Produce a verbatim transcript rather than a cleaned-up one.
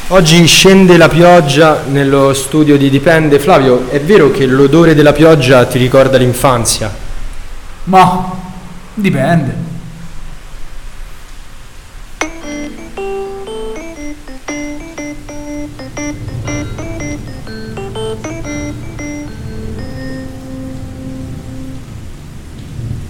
Oggi scende la pioggia nello studio di Dipende. Flavio, è vero che l'odore della pioggia ti ricorda l'infanzia? Ma dipende.